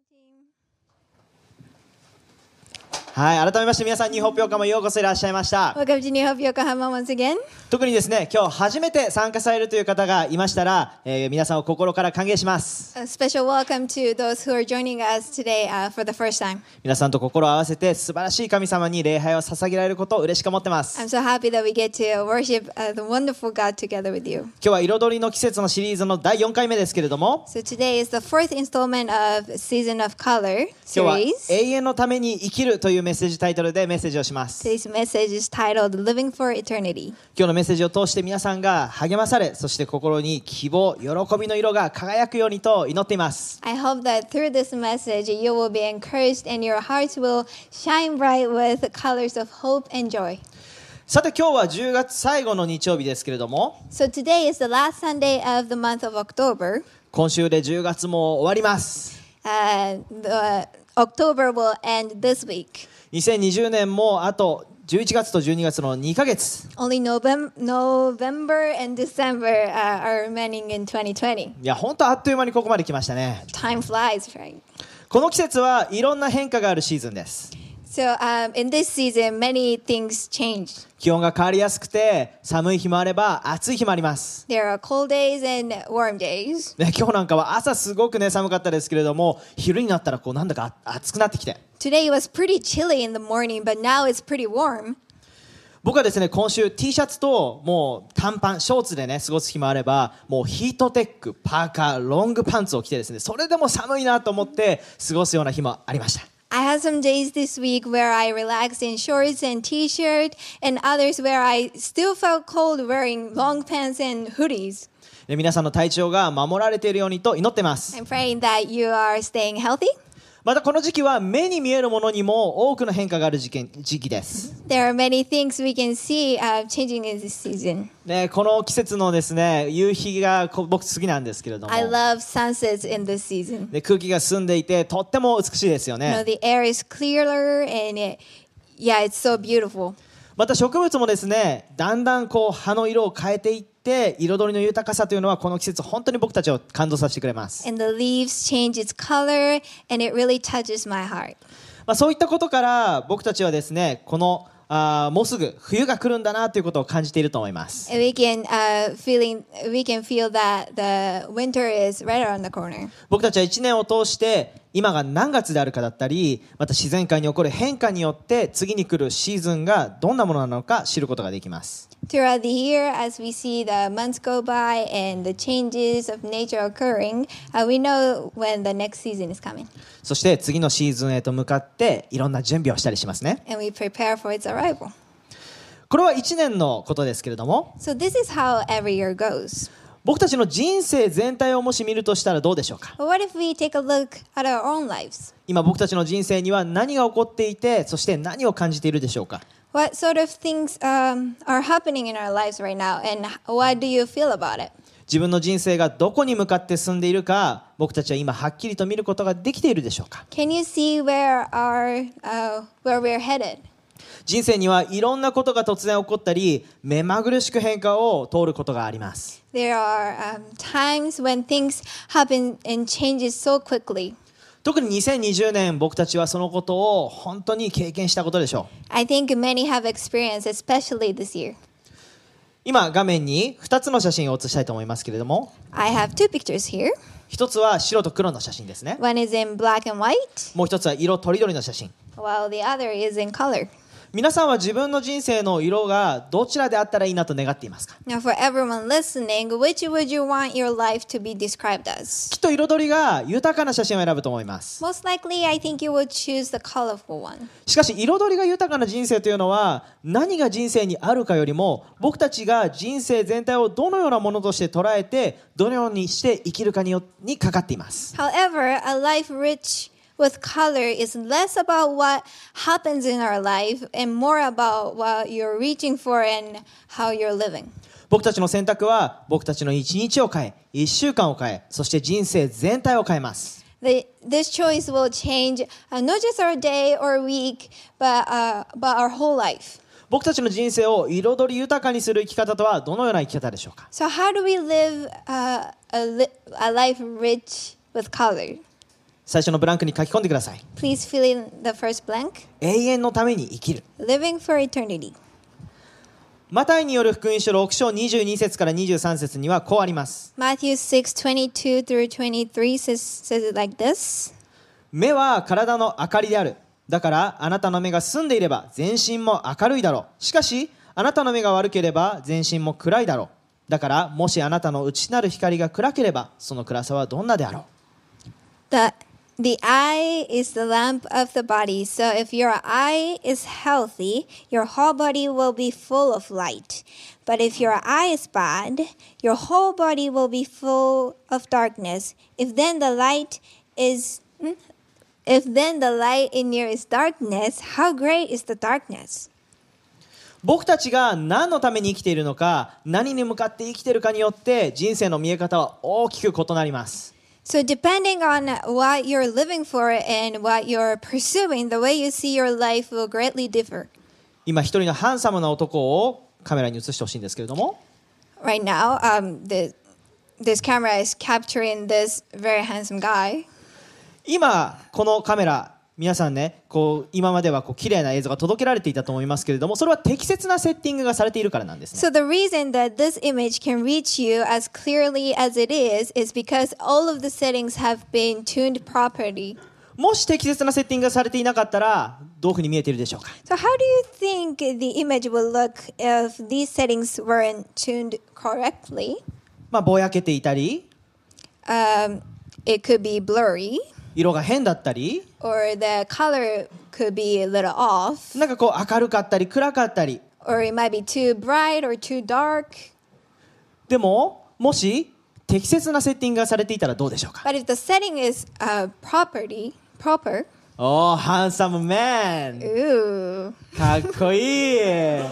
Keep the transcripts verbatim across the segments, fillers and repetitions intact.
はい、改めまして皆さん、ニューホープ横浜ようこそいらっしゃいました。 Welcome to New Hope Yokohama once again. 特にですね、今日初めて参加されるという方がいましたら、えー、皆さんを心から歓迎します。 A special welcome to those who are joining us today、uh, for the first time. 皆さんと心を合わせて素晴らしい神様に礼拝を捧げられることを嬉しく思ってます。 I'm so happy that we get to worship、uh, the wonderful God together with you. 今日は彩りの季節のシリーズのだいよんかいめですけれども、 So today is the fourth installment of Season of Color 今日は series. 永遠のために生きるというメッセージタイトルでメッセージをします。 Today's message is titled Living for Eternity. 今日のメッセージを通して皆さんが励まされ、そして心に希望、喜びの色が輝くようにと祈っています。 I hope that through this message you will be encouraged and your hearts will shine bright with the colors of hope and joy. さて今日はじゅうがつ最後の日曜日ですけれども、 So today is the last Sunday of the month of October. 今週でじゅうがつも終わります。 Uh, the October will end this week. にせんにじゅうねんもあとじゅういちがつとじゅうにがつのにかげつ。 Only November, November and December uh, are remaining in twenty twenty. いや本当あっという間にここまで来ましたね。 Time flies, right? この季節はいろんな変化があるシーズンです。 So um, in this season, many things change. 気温が変わりやすくて寒い日もあれば暑い日もあります。 There are cold days and warm days. ね、今日なんかは朝すごくね寒かったですけれども、昼になったらこうなんだか暑くなってきて、 Today was pretty chilly in the morning, but now it's pretty warm. 僕はですね今週 T シャツともう短パンショーツでね過ごす日もあれば、もうヒートテック、パーカー、ロングパンツを着てですね、それでも寒いなと思って過ごすような日もありました。 I had some days this week where I relaxed in shorts and t-shirt, and others where I still felt cold wearing long pants and hoodies. で皆さんの体調が守られているようにと祈ってます。 I'm praying that you are staying healthy. またこの時期は目に見えるものにも多くの変化がある時期、時期です。 There are many things we can see、uh, changing in this season. ね、この季節のですね夕日がこ僕好きなんですけれども、 I love sunsets in this season. で空気が澄んでいてとっても美しいですよ You know, ね。 the air is clearer and it, yeah, it's so beautiful. また植物もですねだんだんこう葉の色を変えていって彩りの豊かさというのはこの季節本当に僕たちを感動させてくれます。 And the leaves change its color and it really touches my heart. まあ、そういったことから僕たちはですねこのあもうすぐ冬が来るんだなということを感じていると思います。 And we can, uh, feeling, we can feel that the winter is right around the corner. 僕たちはいちねんを通して今が何月であるかだったり、また自然界に起こる変化によって次に来るシーズンがどんなものなのか知ることができます。 Throughout the year, as we see the months go by and the changes of nature occurring, uh, we know when the next season is coming. そして次のシーズンへと向かっていろんな準備をしたりしますね。 And we prepare for its arrival. これはいちねんのことですけれども、 So this is how every year goes. 僕たちの人生全体をもし見るとしたらどうでしょうか。 But what if we take a look at our own lives? 今僕たちの人生には何が起こっていて、そして何を感じているでしょうか。 What sort of things um, are happening in our lives right now, and what do you feel about it? 自分の人生がどこに向かって進んでいるか、僕たちは今はっきりと見ることができているでしょうか。 Can you see where our uh, where we're headed? 人生にはいろんなことが突然起こったり、目まぐるしく変化を通ることがあります。 There are um, times when things happen and changes so quickly. 特ににせんにじゅうねん、僕たちはそのことを本当に経験したことでしょう。 I think many have experienced, especially this year. 今画面にふたつの写真を写したいと思いますけれども、 I have two pictures here. 一つは白と黒の写真ですね。 One is in black and white, もう一つは色とりどりの写真。 while the other is in color. 皆さんは自分の人生の色がどちらであったらいいなと願っていますか？ Now, for everyone listening, which would you want your life to be described as? きっと彩りが豊かな写真を選ぶと思います。 Most likely, I think you would choose the colorful one. しかし彩りが豊かな人生というのは何が人生にあるかよりも、僕たちが人生全体をどのようなものとして捉えてどのようにして生きるかによにかかっています。 However, a life rich with color is less about what happens in our life and more about what you're reaching for and how you're living. 僕たちの選択は僕たちの一日を変え、一週間を変え、そして人生全体を変えます。 The, this choice will change uh, not just our day or week, but, uh, but our whole life. 僕たちの人生を彩り豊かにする生き方とはどのような生き方でしょうか？ So how do we live uh, a, li- a life rich with color? 最初のブランクに書き込んでください。 Please fill in the first blank. 永遠のために生きる。 Living for eternity. マタイによる福音書ろく章にじゅうに節からにじゅうさん節にはこうあります。 Matthew six twenty-two through twenty-three says, says it like this. 目は体の明かりである。だからあなたの目が澄んでいれば全身も明るいだろう。しかしあなたの目が悪ければ全身も暗いだろう。だからもしあなたの内なる光が暗ければその暗さはどんなであろう。 The, the eye is the lamp of the body. So if your eye is healthy, your whole body will be full of light. But if your eye is bad, your whole body will be full of darkness. If then the light is if then the light in you is darkness, how great is the darkness? 僕たちが何のために生きているのか、何に向かって生きているかによって人生の見え方は大きく異なります。 So depending on what you're living for and what you're pursuing, the way you see your life will greatly differ. 今一人のハンサムな男をカメラに映してほしいんですけれども、 Right now, um, the, this camera is capturing this very handsome guy. 今このカメラ皆さんね、こう今まではこう綺麗な映像が届けられていたと思いますけれども、それは適切なセッティングがされているからなんですね。 So the reason that this image can reach you as clearly as it is is because all of the settings have been tuned properly. もし適切なセッティングがされていなかったらどういうふうに見えているでしょうか。 So how do you think the image will look if these settings weren't tuned correctly? まあぼやけていたり、 Um, it could be blurry, 色が変だったり、 or the color could be a little off, なんかこう明るかったり暗かったり。 or it might be too bright or too dark. でももし適切なセッティングがされていたらどうでしょうか。 But if the setting is uh, property, proper, おー、ハンサムマン。 ooh, かっこいい。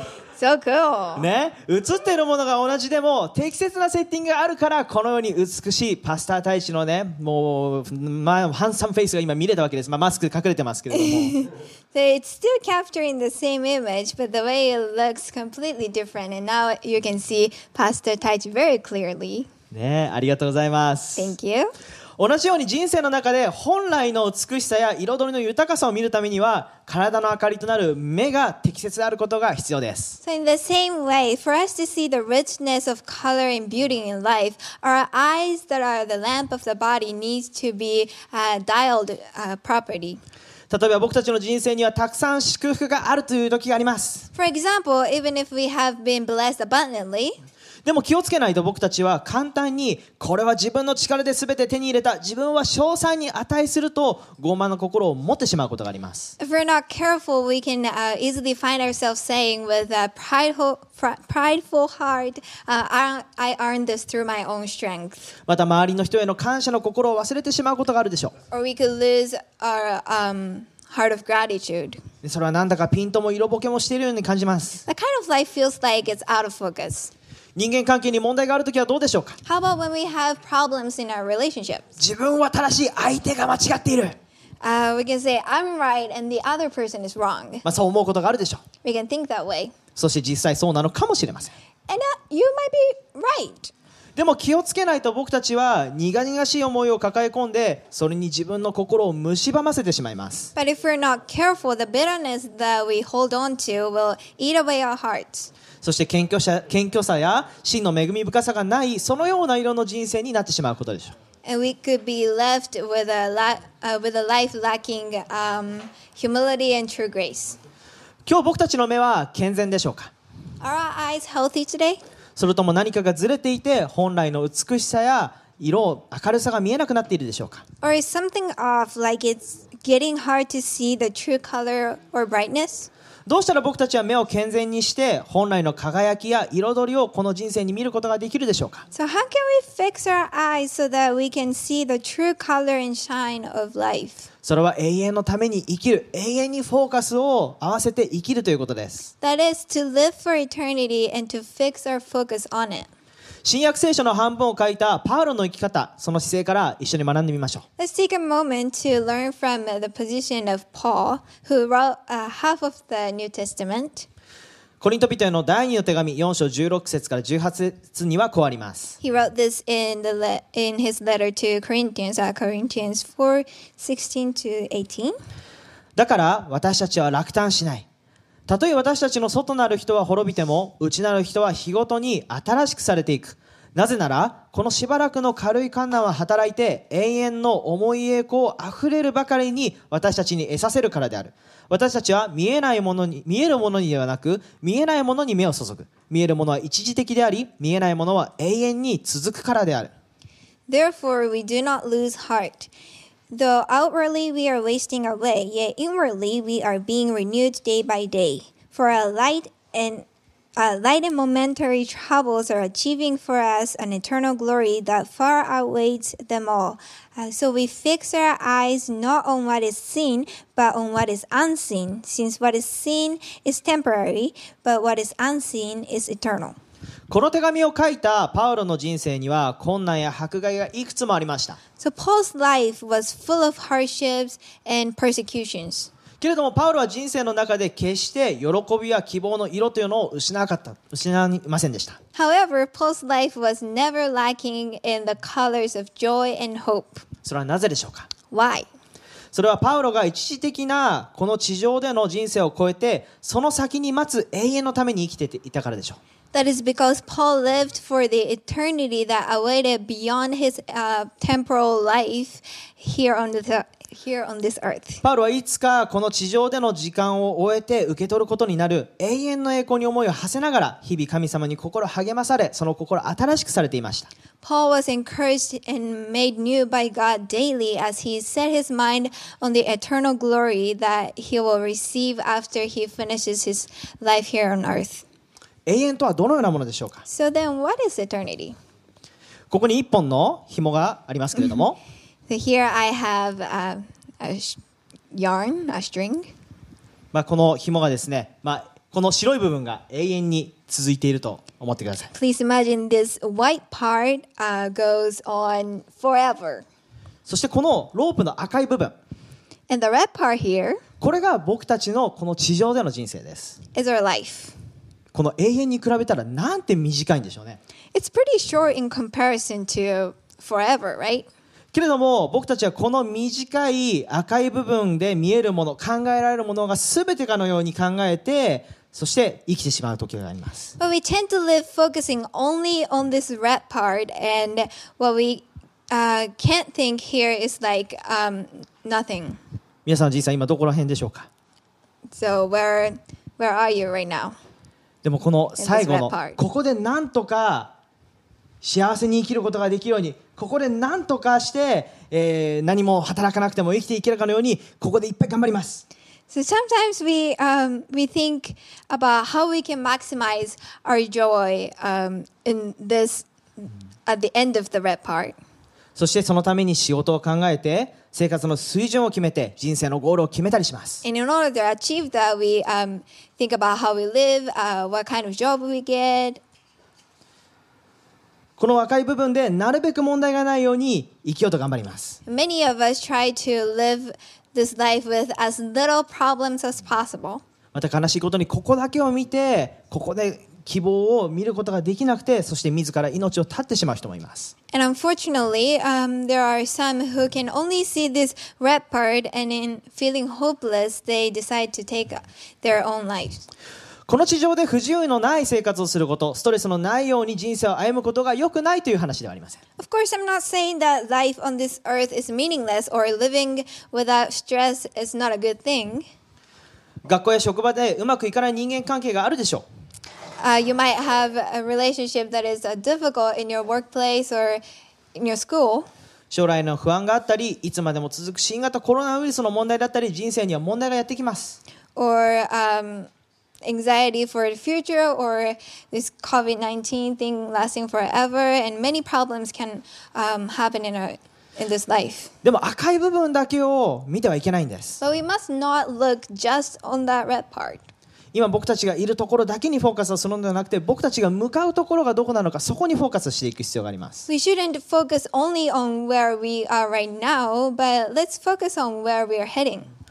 so cool. ね、映っているものが同じでも適切なセッティングがあるからこのように美しいパスター大使のね、もう、まあ、ハンサムフェイスが今見れたわけです。まあ、マスクで隠れてますけれども。 So it's still capturing the same image, but the way it looks completely different. And now you can see Pastor Taichi very clearly. ね、ありがとうございます。 Thank you. 同じように人生の中で本来の美しさや彩りの豊かさを見るためには体の明かりとなる目が適切であることが必要です。 So in the same way, for us to see the richness of color and beauty in life, our eyes that are the lamp of the body needs to be uh, dialed uh, properly. 例えば僕たちの人生にはたくさん祝福があるという時があります。 For example, even if we have been blessed abundantly, でも気をつけないと僕たちは簡単にこれは自分の力で全て手に入れた、自分は称賛に値すると傲慢な心を持ってしまうことがあります。 if we're not careful, we can uh, easily find ourselves saying with a prideful, fr- prideful heart, uh, I, I earned this through my own strength. また周りの人への感謝の心を忘れてしまうことがあるでしょ Or we could lose our um, heart of gratitude. う。それはなんだかピントも色ぼけもしているように感じます。 That kind of life feels like it's out of focus. 人間関係に問題があるときはどうでしょうか。 How about when we have problems in our relationships? 自分は正しい、相手が間違っている、 Uh, we can say, I'm right and the other person is wrong. まあ、そう思うことがあるでしょう。 We can think that way. そして実際そうなのかもしれません。 And uh, you might be right. でも気をつけないと僕たちは苦々しい思いを抱え込んでそれに自分の心を蝕ませてしまいます。 But if we're not careful, the bitterness that we hold on to will eat away our hearts. そして謙虚さ、謙虚さや真の恵み深さがないそのような色の人生になってしまうことでしょう。 And we could be left with a, la- uh, with a life lacking um, humility and true grace. 今日僕たちの目は健全でしょうか。 Are our eyes healthy today? それとも何かがずれていて本来の美しさや色、明るさが見えなくなっているでしょうか。 Or is something off, like it's getting hard to see the true color or brightness? どうしたら僕たちは目を健全にして本来の輝きや彩りをこの人生に見ることができるでしょうか。 So how can we fix our eyes so that we can see the true color and shine of life? それは永遠のために生きる、永遠にフォーカスを合わせて生きるということです。 That is to live for eternity and to fix our focus on it. 新約聖書の半分を書いたパウロの生き方、その姿勢から一緒に学んでみましょう。 Let's take a moment to learn from uh, the position of Paul, who wrote uh, half of the New Testament. コリント人への第二の手紙よん章じゅうろく節からじゅうはち節にはこうあります。 He wrote this in the le- in his letter to Corinthians, uh, Corinthians four sixteen to eighteen. だから私たちは落胆しない。たとえ私たちの外なる人は滅びても、内なる人は日ごとに新しくされていく。なぜならこのしばらくの軽い観難は働いて、永遠の重い栄光あふれるばかりに私たちに得させるからである。私たちは見えないものに、見えるものにではなく、見えないものに目を注ぐ。見えるものは一時的であり、見えないものは永遠に続くからである。 Therefore, we do not lose heart. Though outwardly we are wasting away, yet inwardly we are being renewed day by day. For a light and uh, light and momentary troubles are achieving for us an eternal glory that far outweighs them all. Uh, so we fix our eyes not on what is seen, but on what is unseen, since what is seen is temporary, but what is unseen is eternal. この手紙を書いたパウロの人生には困難や迫害がいくつもありました。 So Paul's life was full of hardships and persecutions. けれどもパウロは人生の中で決して喜びや希望の色というのを失わなかった、失いませんでした。 However, Paul's life was never lacking in the colors of joy and hope. それはなぜでしょうか。 Why? それはパウロが一時的なこの地上での人生を超えて、その先に待つ永遠のために生きていたからでしょう。 That is because Paul lived for the eternity that awaited beyond his uh, temporal life here on the here on this earth. パウロはいつかこの地上での時間を終えて受け取ることになる永遠の栄光に思いを馳せながら、日々神様に心励まされ、その心新しくされていました。 Paul was encouraged and made new by God daily as he set his mind on the eternal glory that he will receive after he finishes his life here on earth. 永遠とはどのようなものでしょうか。 So then, what is eternity? ここに一本の紐がありますけれども、 So here I have uh, a sh- yarn, a string. まあこの紐がですね、まあ、この白い部分が永遠に続いていると思ってください。 Please imagine this white part uh, goes on forever. そしてこのロープの赤い部分、 And the red part here これが僕たちのこの地上での人生です。 is our life. この永遠に比べたらなんて短いんでしょうね。 It's pretty short in comparison to forever, right? けれども僕たちはこの短い赤い部分で見えるもの、考えられるものが全てかのように考えて、そして生きてしまう時があります。 But we tend to live focusing only on this red part, and what we uh, can't think here is like um, nothing. 皆さんの人生は今どこら辺でしょうか。 So where where are you right now? でもこの最後の In this red part. ここでなんとか幸せに生きることができるように、ここでなんとかして、えー、何も働かなくても生きていけるかのように、ここでいっぱい頑張ります。 So sometimes we um, we think about how we can maximize our joy um, in this at the end of the red part. そしてそのために仕事を考えて、生活の水準を決めて、人生のゴールを決めたりします。 And in order to achieve that, we um, think about how we live, uh, what kind of job we get. この赤い部分でなるべく問題がないように生きようと頑張ります。 Many of us try to live this life with as little problems as possible. また悲しいことにここだけを見て、ここで希望を見ることができなくて、そして自ら命を絶ってしまう人もいます。 And unfortunately, um, there are some who can only see this red part, and in feeling hopeless, they decide to take their own lives. この地上で不自由のない生活をすること、ストレスのないように人生を歩むことが良くないという話ではありません。 Of course, I'm not saying that life on this earth is meaningless or living without stress is not a good thing. 学校や職場でうまくいかない人間関係があるでしょう。 Uh, you might have a relationship that is uh, difficult in your workplace or in your school. 将来の不安があったり、いつまでも続く新型コロナウイルスの問題だったり、人生には問題がやってきます。 Or um, anxiety for the future, or this COVID nineteen thing lasting forever, and many problems can um, happen in our in this life. でも赤い部分だけを見てはいけないんです。 So we must not look just on that red part. 今僕たちがいるところだけにフォーカスをするのではなくて、僕たちが向かうところがどこなのか、そこにフォーカスしていく必要があります。 We shouldn't focus only on where we are right now, but let's focus on where we are heading.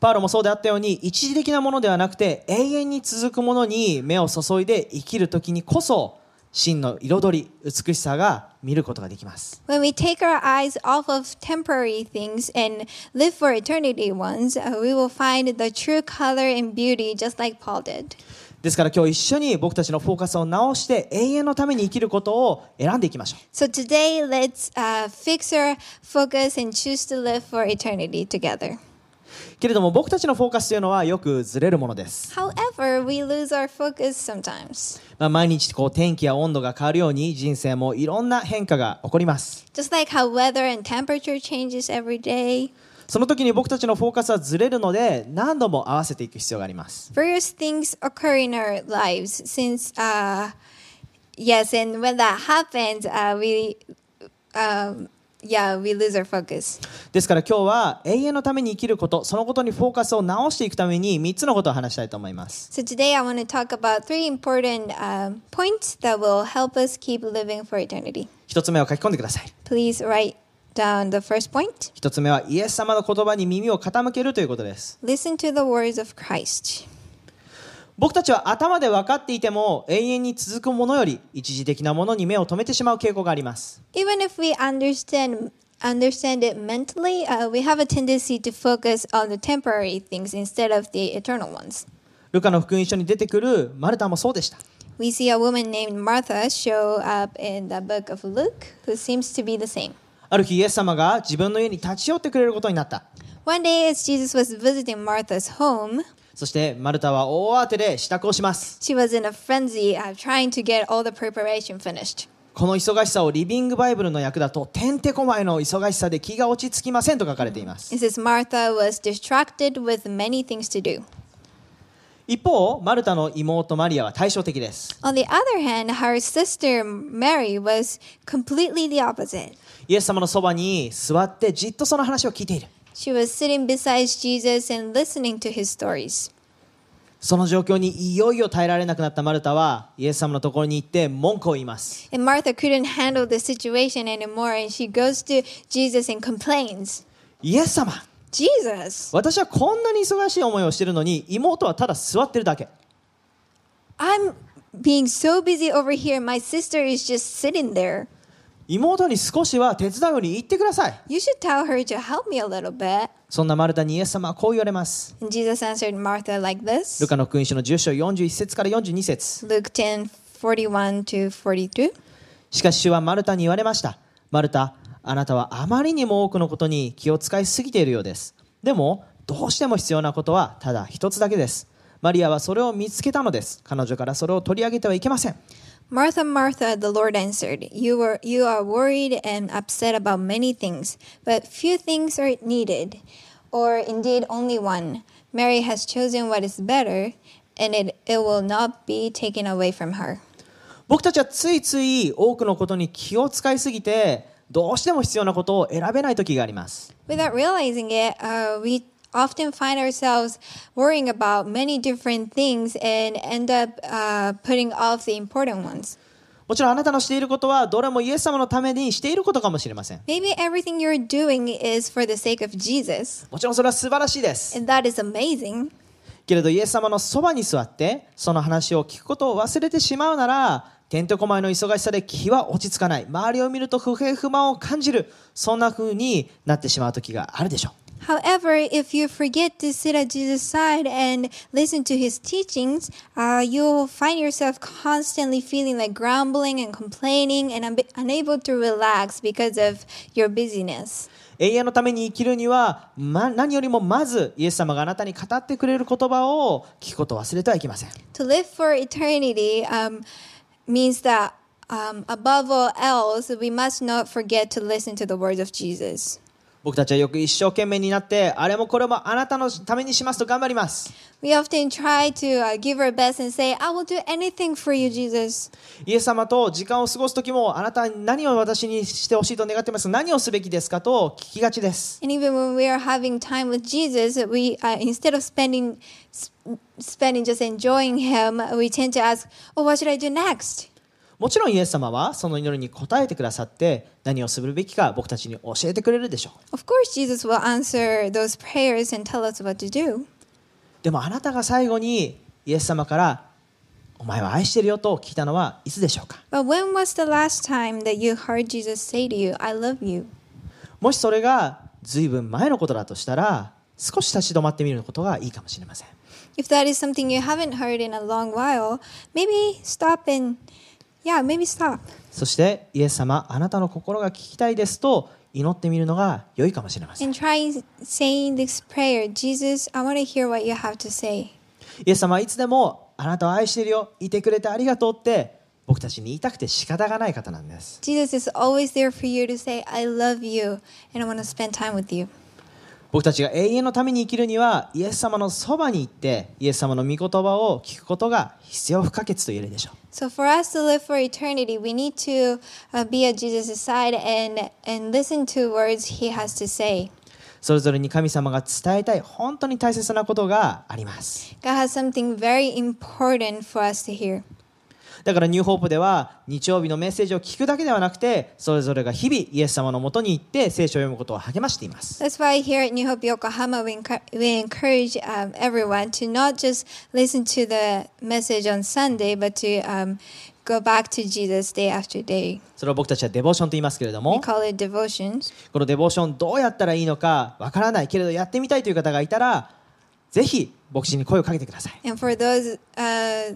パウロもそうであったように、一時的なものではなくて永遠に続くものに目を注いで生きるときにこそ、真の彩り、美しさが見ることができます。 When we take our eyes off of temporary things and live for eternity ones, uh, we will find the true color and beauty just like Paul did. ですから今日一緒に僕たちのフォーカスを直して永遠のために生きることを選んでいきましょう。 So today, let's uh, fix our focus and choose to live for eternity together. けれども僕たちのフォーカスというのはよくずれるものです。 However, we lose our focus sometimes. まあ、毎日こう天気や温度が変わるように人生もいろんな変化が起こります。 Just like how weather and temperature changes every day. その時に僕たちのフォーカスはずれるので何度も合わせていく必要があります。 Various things occur in our lives since, uh, yes, and when that happens, uh, we, um, yeah, we lose our focus. ですから今日は永遠のために生きること、そのことにフォーカスを直していくためにみっつのことを話したいと思います。 So today I want to talk about three important um, points that will help us keep living for eternity. 一つ目を書き込んでください。 Please write down the first point. 一つ目はイエス様の言葉に耳を傾けるということです。 Listen to the words of Christ. 僕たちは頭で分かっていても永遠に続くものより一時的なものに目を留めてしまう傾向があります。 Even if we understand understand it mentally, uh, we have a tendency to focus on the temporary things instead of the eternal ones. ルカの福音書に出てくるマルタもそうでした。 We see a woman named Martha show up in the book of Luke who seems to be the same. ある日イエス様が自分の家に立ち寄ってくれることになった。 One day as Jesus was visiting Martha's home, そしてマルタは大慌てで支度をします。 she was in a frenzy uh, trying to get all the preparation finished. この忙しさをリビングバイブルの訳だとてんてこまいの忙しさで気が落ち着きませんと書かれています。 It says Martha was distracted with many things to do. 一方マルタの妹マリアは対照的です。 On the other hand, her sister Mary was completely the opposite. イエス様のそばに座ってじっとその話を聞いている。 She was sitting beside Jesus and listening to his stories. その状況にいよいよ耐えられなくなったマルタはイエス様のところに行って文句を言います。 And Martha couldn't handle the situation anymore, and she goes to Jesus and complains. イエス様、 Jesus, 私はこんなに忙しい思いをしているのに妹はただ座ってるだけ。 I'm being so busy over here. My sister is just sitting there. 妹に少しは手伝うように言ってください。 You should tell her to help me a little bit. そんなマルタにイエス様はこう言われます。 And Jesus answered Martha like ル this. カの福音書のじゅっ章よんじゅういち節からよんじゅうに節。 Luke ten forty-one to forty-two. しかし主はマルタに言われました。マルタ、あなたはあまりにも多くのことに気を使いすぎているようです。でもどうしても必要なことはただ一つだけです。マリアはそれを見つけたのです。彼女からそれを取り上げてはいけません。 Martha, Martha, the Lord answered, you, were, you are worried and upset about many things, but few things are needed, or indeed only one. Mary has chosen what is better, and it, it will not be taken away from her. 僕たちはついつい多くのことに気を使いすぎてどうしても必要なことを選べない時があります。 Without realizing it, uh, we often find ourselves worrying about many different things and end up uh, putting off the important ones. もちろんあなたのしていることはどれもイエス様のためにしていることかもしれません。 Maybe everything you're doing is for the sake of Jesus, もちろんそれは素晴らしいです。 and that is amazing. けれどイエス様のそばに座ってその話を聞くことを忘れてしまうなら、てんてこまいの忙しさで気は落ち着かない、周りを見ると不平不満を感じる、そんな風になってしまう時があるでしょう。 However, if you forget to sit at Jesus' side and listen to his teachings, uh, you'll find yourself constantly feeling like grumbling and complaining and un- unable to relax because of your busyness. 永遠のために生きるには、ま、何よりもまずイエス様があなたに語ってくれる言葉を聞くことを忘れてはいけません。 To live for eternity um, means that um, above all else, we must not forget to listen to the words of Jesus. 僕たちはよく一生懸命になってあれもこれもあなたのためにしますと頑張ります。 We often try to uh, give our best and say, I will do anything for you, Jesus. イエス様と時間を過ごす時もあなたは何を私にしてほしいと願っていますか、何をすべきですかと聞きがちです。 And even when we are having time with Jesus, we uh, instead of spending spending just enjoying him, we tend to ask, oh, what should I do next? もちろんイエス様はその祈りに応えてくださって何をするべきか僕たちに教えてくれるでしょう。 Of course, Jesus will answer those prayers and tell us what to do. でもあなたが最後にイエス様からお前は愛してるよと聞いたのはいつでしょうか。 But when was the last time that you heard Jesus say to you, I love you? もしそれがずいぶん前のことだとしたら少し立ち止まってみることがいいかもしれません。 If that is something you haven't heard in a long while, maybe stop and, yeah, maybe stop. そしてイエス様あなたの心が聞きたいですと祈ってみるのが良いかもしれません。 And try saying this prayer, Jesus, I want to hear what you have to say. イエス様はいつでもあなたを愛しているよ、いてくれてありがとうって僕たちに言いたくて仕方がない方なんです。 Jesus is always there for you to say, I love you, and I want to spend time with you. 僕たちが永遠のために生きるにはイエス様のそばに行ってイエス様の御言葉を聞くことが必要不可欠と言えるでしょう。 So for us to live for eternity, we need to uh, be at Jesus' side and, and listen to words he has to say. それぞれに神様が伝えたい本当に大切なことがあります。 God has something very important for us to hear. だからニューホープでは日曜日のメッセージを聞くだけではなくてそれぞれが日々イエス様のもとに行って聖書を読むことを励ましています。 That's why here at New Hope Yokohama, we, encu- we encourage um, everyone to not just listen to the message on Sunday, but to um, go back to Jesus day after day. それを僕たちはデボーションと言いますけれど We も call it devotions. このデボーションどうやったらいいのかわからないけれどやってみたいという方がいたらぜひ牧師に声をかけてください。 And for those uh,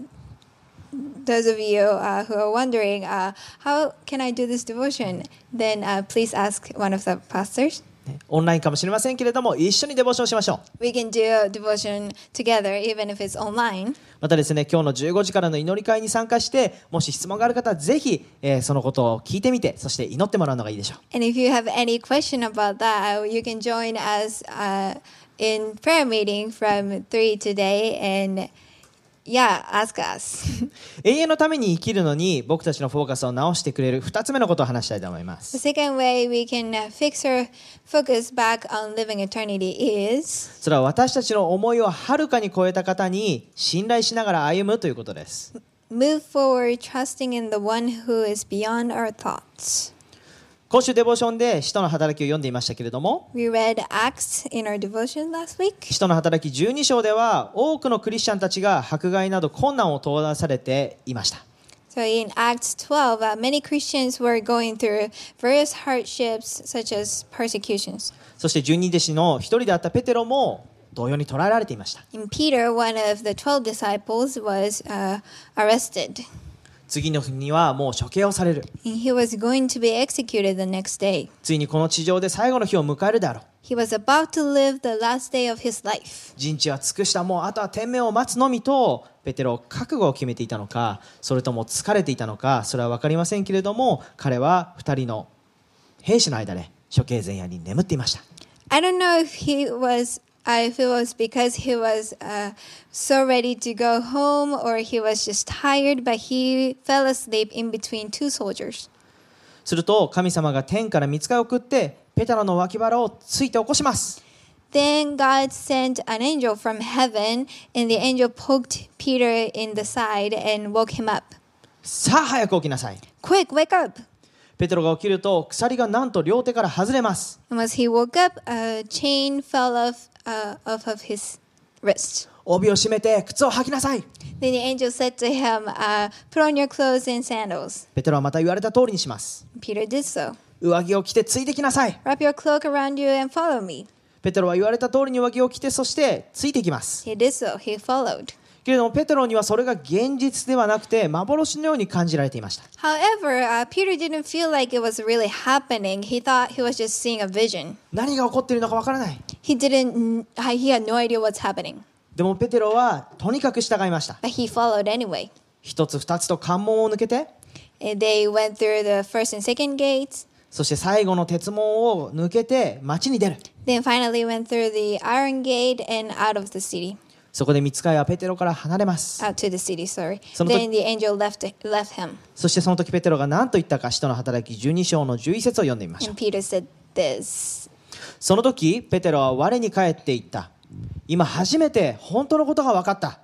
those of you uh, who are wondering, uh, how can I do this devotion? Then uh, please ask one of the pastors. ねオンラインかもしれませんけれども一緒にデボーションしましょう。 We can do a devotion together, even if it's online. またですね今日のじゅうごじからの祈り会に参加してもし質問がある方はぜひ、えーそのことを聞いてみてそして祈ってもらうのがいいでしょう。 And if you have any question about that, uh, you can join us uh, in prayer meeting from three today and yeah, ask us. 永遠のために生きるのに僕たちのフォーカスを直してくれるふたつめのことを話したいと思いま The す。 second way we can uh, fix our focus back on living eternity is それは私たちの思いをはるかに超えた方に信頼しながら歩むということです。 move forward trusting in the one who is beyond our thoughts. 今週デボーションで使徒の働きを読んでいましたけれども We read Acts in our devotion last week. 使徒の働きじゅうに章では多くのクリスチャンたちが迫害など困難を通らされていました。 So in Acts twelve, uh, many Christians were going through various hardships such as persecutions. そして十二弟子の一人であったペテロも同様に捕らえられていました。 And Peter, one of the twelve disciples, was uh, arrested. 次の日にはもう処刑をされる。 And he was going to be executed the next day. ついにこの地上で最後の日を迎えるであろう。 He was about to live the last day of his life. 人知は尽くした、もうあとは天命を待つのみとペテロ覚悟を決めていたのか、それとも疲れていたのか、それは分かりませんけれども、彼は二人の兵士の間で処刑前夜に眠っていました。 I don't know if he was, uh, if it was because he was uh, so ready to go home or he was just tired, but he fell asleep in between two soldiers. すると神様が天から御使いを送ってペテロの脇腹をついて起こします。 Then God sent an angel from heaven, and the angel poked Peter in the side and woke him up. さあ早く起きなさい。 Quick, wake up! ペテロが起きると鎖がなんと両手から外れます。 And as he woke up, a chain fell off, uh, off of his wrist. 帯を締めて靴を履きなさい。 Then the angel said to him, uh, put on your clothes and sandals. ペテロはまた言われた通りにします。 Peter did so. 上着を着てついてきなさい。 Wrap your cloak around you and follow me. ペテロは言われた通りに上着を着てそしてついていきます。 He did so. He followed. けれどもペテロにはそれが現実ではなくて幻のように感じられていました。 However, uh, Peter didn't feel like it was really happening. He thought he was just seeing a vision. 何が起こっているのかわからない。 He didn't. He had no idea what's happening. でもペテロはとにかく従いました。 But he followed anyway. 一つ二つと関門を抜けて And they went through the first and second gates. そして最後の鉄門を抜けて町に出る。 Then finally went through the iron gate and out of the city. そこで御使いはペテロから離れます。 Out to the city, sorry. その時- Then the angel left left him. そしてその時ペテロが何と言ったか使徒の働きじゅうに章のじゅういち節を読んでみましょう。 And Peter said this. その時ペテロは我に返って言った。今初めて本当のことが分かった。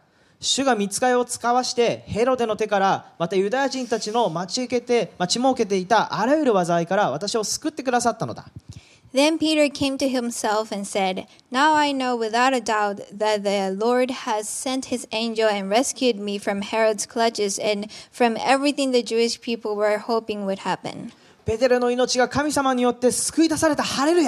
主が御使いを使わしてヘロデの手からまたユダヤ人たちの待ち受けて待ち設けていたあらゆる災いから私を救ってくださったのだ。 Then Peter came to himself and said, Now I know without a doubt that the Lord has sent his angel and rescued me from Herod's clutches and from everything the Jewish people were hoping would happen. ペテロの命が神様によって救い出された。ハレルヤ。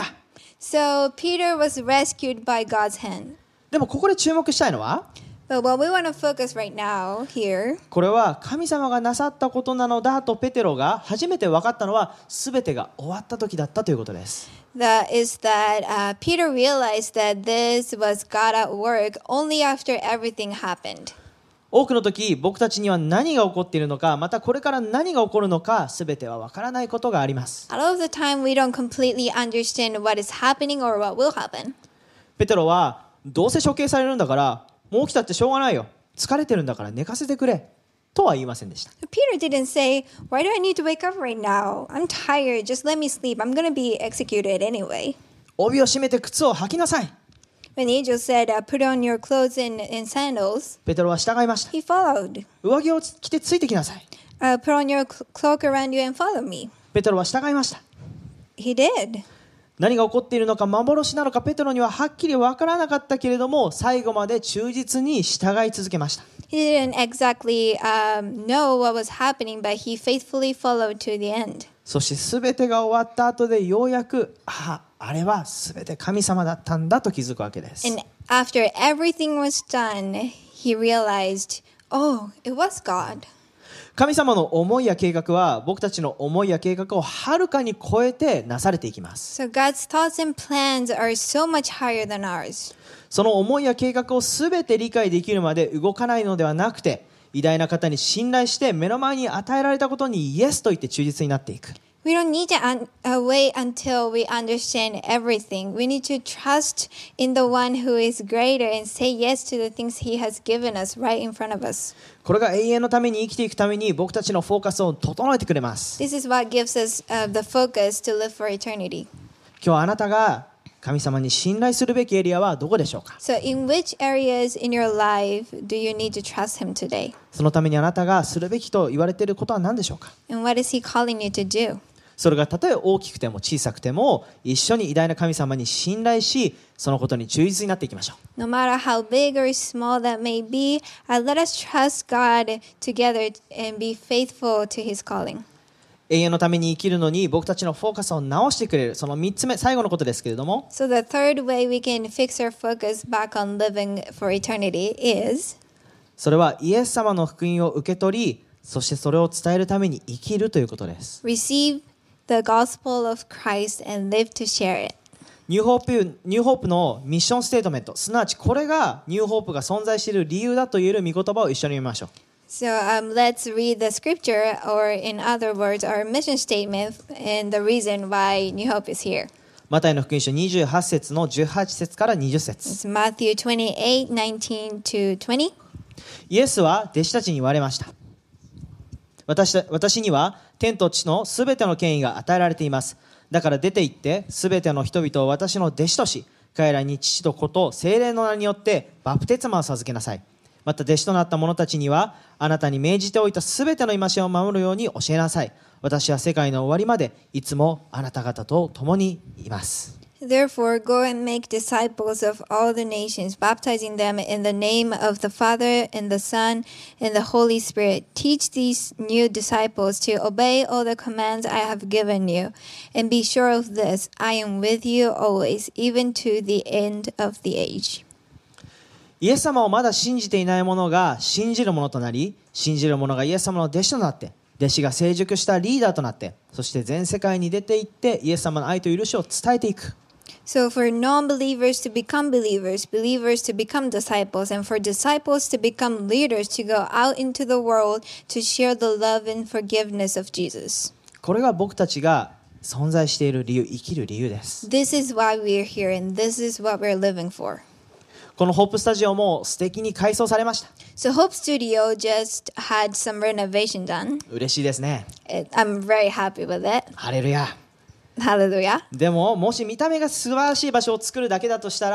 So Peter was rescued by God's hand. でもここで注目したいのは、 But what we want to focus right now here, これは神様がなさったことなのだとペテロが初めて分かったのは全てが終わった時だったということです。 that is that uh, Peter realized that this was God at work only after everything happened. 多くの時僕たちには何が起こっているのか、またこれから何が起こるのか全ては分からないことがあります。 A lot of the time we don't completely understand what is happening or what will happen. ペテロはどうせ処刑されるんだからもう起きたってしょうがないよ、疲れてるんだから寝かせてくれとは言いませんでした。 Peter didn't say, Why do I need to wake up right now? I'm tired. Just let me sleep. I'm going to be executed anyway. 帯を締めて靴を履きなさい。 When the angel said, uh, Put on your clothes and, and sandals, ペテロは従いました。 he followed. 上着を着てついてきなさい。 Uh, put on your cl- cloak around you and follow me. ペテロは従いました。 He did. 何が起こっているのか幻なのかペテロにははっきり分からなかったけれども最後まで忠実に従い続けました。 He didn't exactly um, know what was happening, but he faithfully followed to the end. そして全てが終わった後でようやくああれは全て神様だったんだと気づくわけです。 And after everything was done, he realized, oh, it was God. 神様の思いや計画は僕たちの思いや計画をはるかに超えてなされていきます。 So God's thoughts and plans are so much higher than ours. その思いや計画を全て理解できるまで動かないのではなくて偉大な方に信頼して目の前に与えられたことにイエスと言って忠実になっていく。 We don't need to un- uh, wait until we understand everything. We need to trust in the one who is greater and say yes to the things he has given us right in front of us. これが永遠のために生きていくために僕たちのフォーカスを整えてくれます。 This is what gives us uh, the focus to live for eternity. 今日あなたが神様に信頼するべきエリアはどこでしょうか。 So in which areas in your life do you need to trust him today? そのためにあなたがするべきと言われていることは何でしょうか。 And what is he calling you to do? それがたとえ大きくても小さくても一緒に偉大な神様に信頼しそのことに忠実になっていきましょう。 No matter how big or small that may be, uh, let us trust God together and be faithful to his calling. 永遠のために生きるのに僕たちのフォーカスを直してくれるそのみっつめ最後のことですけれども So the third way we can fix our focus back on living for eternity is それはイエス様の福音を受け取りそしてそれを伝えるために生きるということです。 receive the gospel of Christ and live to share it. ニューホープ、ニューホープのミッションステートメントすなわちこれがニューホープが存在している理由だと言える御言葉を一緒に見ましょう。 So um, let's read the scripture, or in other words, our mission statement and the reason why New Hope is here. マタイの福音書にじゅうはち節のじゅうはち節からにじゅう節 It's Matthew twenty-eight, nineteen to twenty. イエスは弟子たちに言われました。私た私には天と地のすべての権威が与えられています。だから出て行ってすべての人々を私の弟子とし彼らに父と子と聖霊の名によってバプテスマを授けなさい。また弟子となった者たちにはあなたに命じておいたすべての戒めを守るように教えなさい。私は世界の終わりまでいつもあなた方と共にいます。 Therefore, go and make disciples of all the nations, baptizing them in the name of the Father and the Son and the Holy Spirit. Teach these new disciples to obey all the commands I have given you. And be sure of this, I am with you always, even to the end of the age. イエス様をまだ信じていない者が信じる者となり、信じる者がイエス様の弟子となって、弟子が成熟したリーダーとなって、そして全世界に出て行ってイエス様の愛と許しを伝えていく。 So for non-believers to become believers, believers to become disciples, and for disciples to become leaders to go out into the world to share the love and forgiveness of Jesus. これが僕たちが存在している理由、生きる理由です。 This is why we are here, and this is what we're living for. このホープスタジオも素敵に改装されました。 So Hope Studio just had some renovation done. 嬉しいですね。 It, I'm very happy with it. ハレルヤ。 Hallelujah. でももし見た目が素晴らしい場所を作るだけだとしたら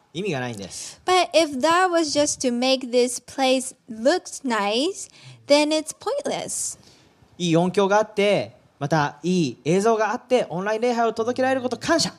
意味がないんです。 But if that was just to make this place look nice, then it's pointless. いい音響があって、またいい映像があってオンライン礼拝を届けられること感謝。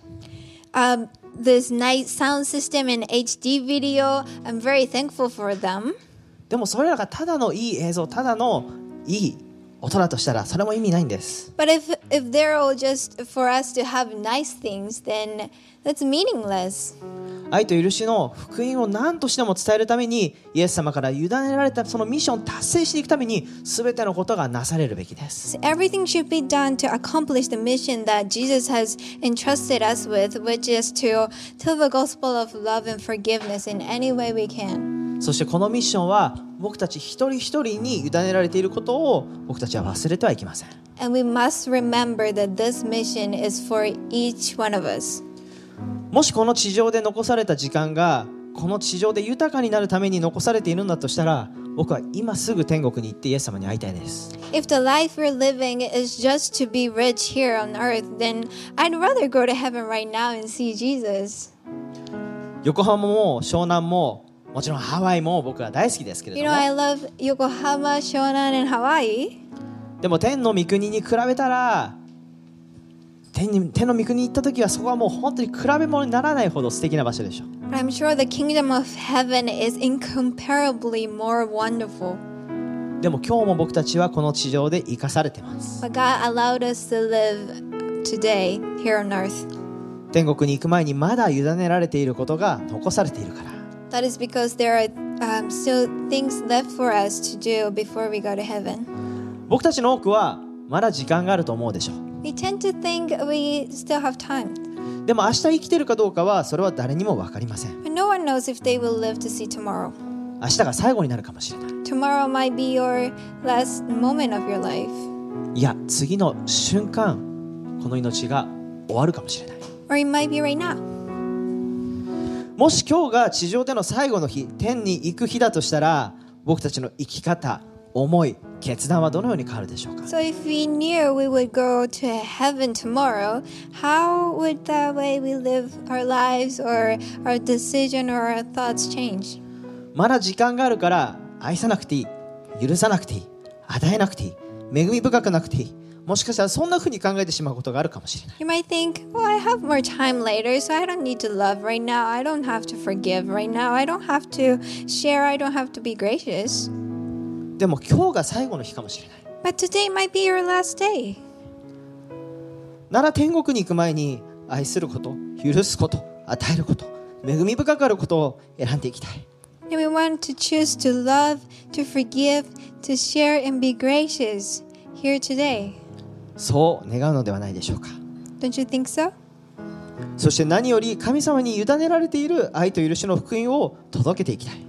Um, this nice sound system and H D video, I'm very thankful for them. でもそれらがただのいい映像、ただのいい音だとしたらそれも意味ないんです。 But if if they're all just for us to have nice things, then that's meaningless. 愛と許しの福音を何としても伝えるためにイエス様から委ねられたそのミッションを達成していくために全てのことがなされるべきです。 Everything should be done to accomplish the mission that Jesus has entrusted us with, which is to tell the gospel of love and forgiveness in any way we can. そしてこのミッションは僕たち一人一人に委ねられていることを僕たちは忘れてはいけません。 And we must remember that this mission is for each one of us. もしこの地上で残された時間がこの地上で豊かになるために残されているんだとしたら、僕は今すぐ天国に行ってイエス様に会いたいです。 If the life we're living is just to be rich here on earth, then I'd rather go to heaven right now and see Jesus. 横浜も湘南ももちろんハワイも僕は大好きですけれ You ど know, も、 I love Yokohama, Shonan, and Hawaii. でも天の御国に比べたら天に天の御国に行った時はそこはもう本当に比べ物にならないほど素敵な場所でしょう。 But I'm sure the kingdom of heaven is incomparably more wonderful. でも今日も僕たちはこの地上で生かされています。 But God allowed us to live today here on earth. 天国に行く前にまだ委ねられていることが残されているから。 That is because there are um, still things left for us to do before we go to heaven. 僕たちの多くはまだ時間があると思うでしょう。 We tend to think we still have time. でも明日生きているかどうかはそれは誰にも分かりません。 But no one knows if they will live to see tomorrow. 明日が最後になるかもしれない。 Tomorrow might be your last moment of your life. いや、次の瞬間この命が終わるかもしれない。 Or it might be right now. もし今日が地上での最後の日、天に行く日だとしたら、僕たちの生き方、思い、決断はどのように変わるでしょうか。 So if we knew we would go to heaven tomorrow, how would the way we live our lives or our decision or our thoughts change? まだ時間があるから愛さなくていい、許さなくていい、与えなくていい、恵み深くなくていい。もしかしたらそんな風に考えてしまうことがあるかもしれない。 You might think, well, I have more time later, so I don't need to love right now. I don't have to forgive right now. I don't have to share. I don't have to be gracious. でも今日が最後の日かもしれない。 But today might be your last day. なら天国に行く前に愛すること、許すこと、与えること、恵み深くあることを選んでいきたい。 And we want to choose to love, to forgive, to share, and be gracious here today. そう願うのではないでしょうか。 Don't you think so? そして何より神様に委ねられている愛と許しの福音を届けていきたい。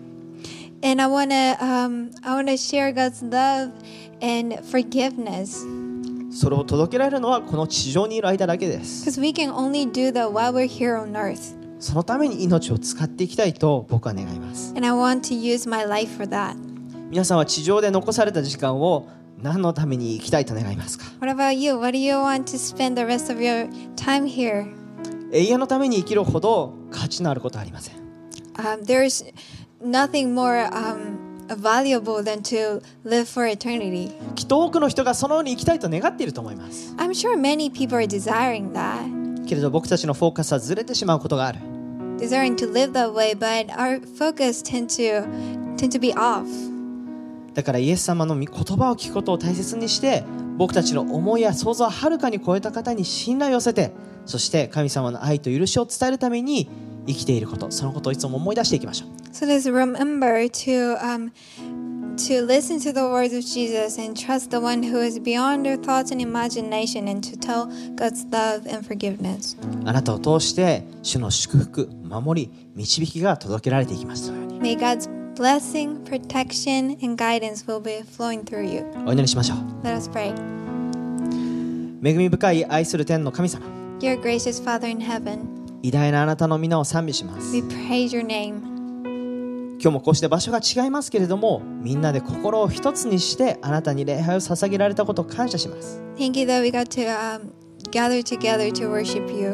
And I wanna, um, I wanna share God's love and forgiveness, それを届けられるのはこの地上にいる間だけです。 because we can only do that while we're here on earth. そのために命を使っていきたいと僕は願います。 And I want to use my life for that. 皆さんは地上で残された時間を何のために生きたいと願いますか。 What about you? What do you want to spend the rest of your time here? 永遠のために生きるほど価値のあることはありません。 Um, there's nothing more um, valuable than to live for eternity. きっと多くの人がそのように生きたいと願っていると思います。 I'm sure many people are desiring that, けれど僕たちのフォーカスはずれてしまうことがある。 desiring to live that way, but our focus tend to tend to be off. だからイエス様の御言葉を聞くことを大切にして僕たちの思いや想像をはるかに超えた方に信頼を寄せて、そして神様の愛と許しを伝えるために生きていること、そのことをいつも思い出していきましょう。 So let's remember to um, to listen to the words of Jesus and trust the one who is beyond our thoughts and imagination, and to tell God's love and forgiveness. あなたを通して主の祝福、守り、導きが届けられていきますように。 May God's blessing, protection, and guidance will be flowing through you. お祈りしましょう。 Let us pray. 恵み深い愛する天の神様、 Dear gracious Father in heaven, 偉大なあなたの皆を賛美します。 we praise your name. 今日もこうして場所が違いますけれども、みんなで心を一つにしてあなたに礼拝を捧げられたことを感謝します。 Thank you that we got to um, gather together to worship you.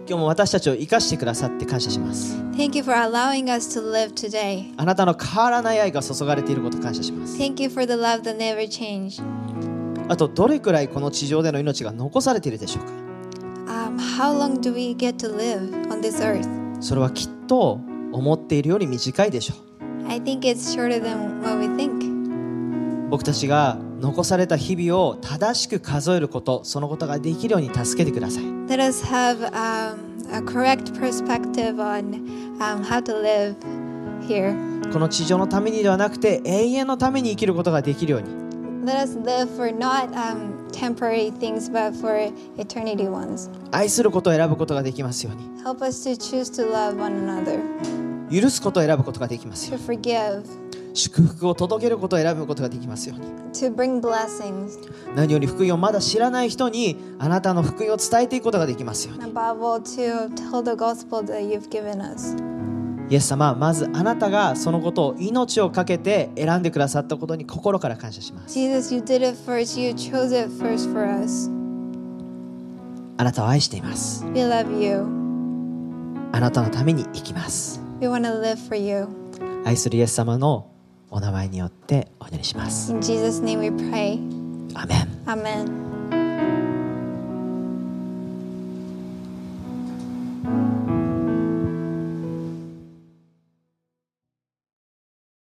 今日も私たちを生かしてくださって感謝します。 Thank you for allowing us to live today. あなたの変わらない愛が注がれていることを感謝します。 Thank you for the love that never changed. あとどれくらいこの地上での命が残されているでしょうか。 Um, how long do we get to live on this earth? それはきっと思っているより短いでしょう。 I think it's shorter than what we think. 僕たちが残された日々を正しく数えること、そのことができるように助けてください。 Let us have um, a correct perspective on um, how to live here. この地上のためにではなくて永遠のために生きることができるように。 Let us live for not um, temporary things, but for eternity ones. 愛することを選ぶことができますように。 Help us to choose to love one another, 許すことを選ぶことができますよ to うに。 forgive, 祝福を届けることを選ぶことができますように。 to bring blessings. 何より福音をまだ知らない人にあなたの福音を伝えていくことができますように。 Above all, to tell the gospel that you've given us. イエス様、まずあなたがそのことを命を懸けて選んでくださったことに心から感謝します。 Jesus, you did it first. You chose it first for us. あなたを愛しています。 We love you. あなたのために生きます。 We want to live for you. 愛するイエス様のお名前によってお祈りします。 In Jesus' name we pray. アーメン。 Amen.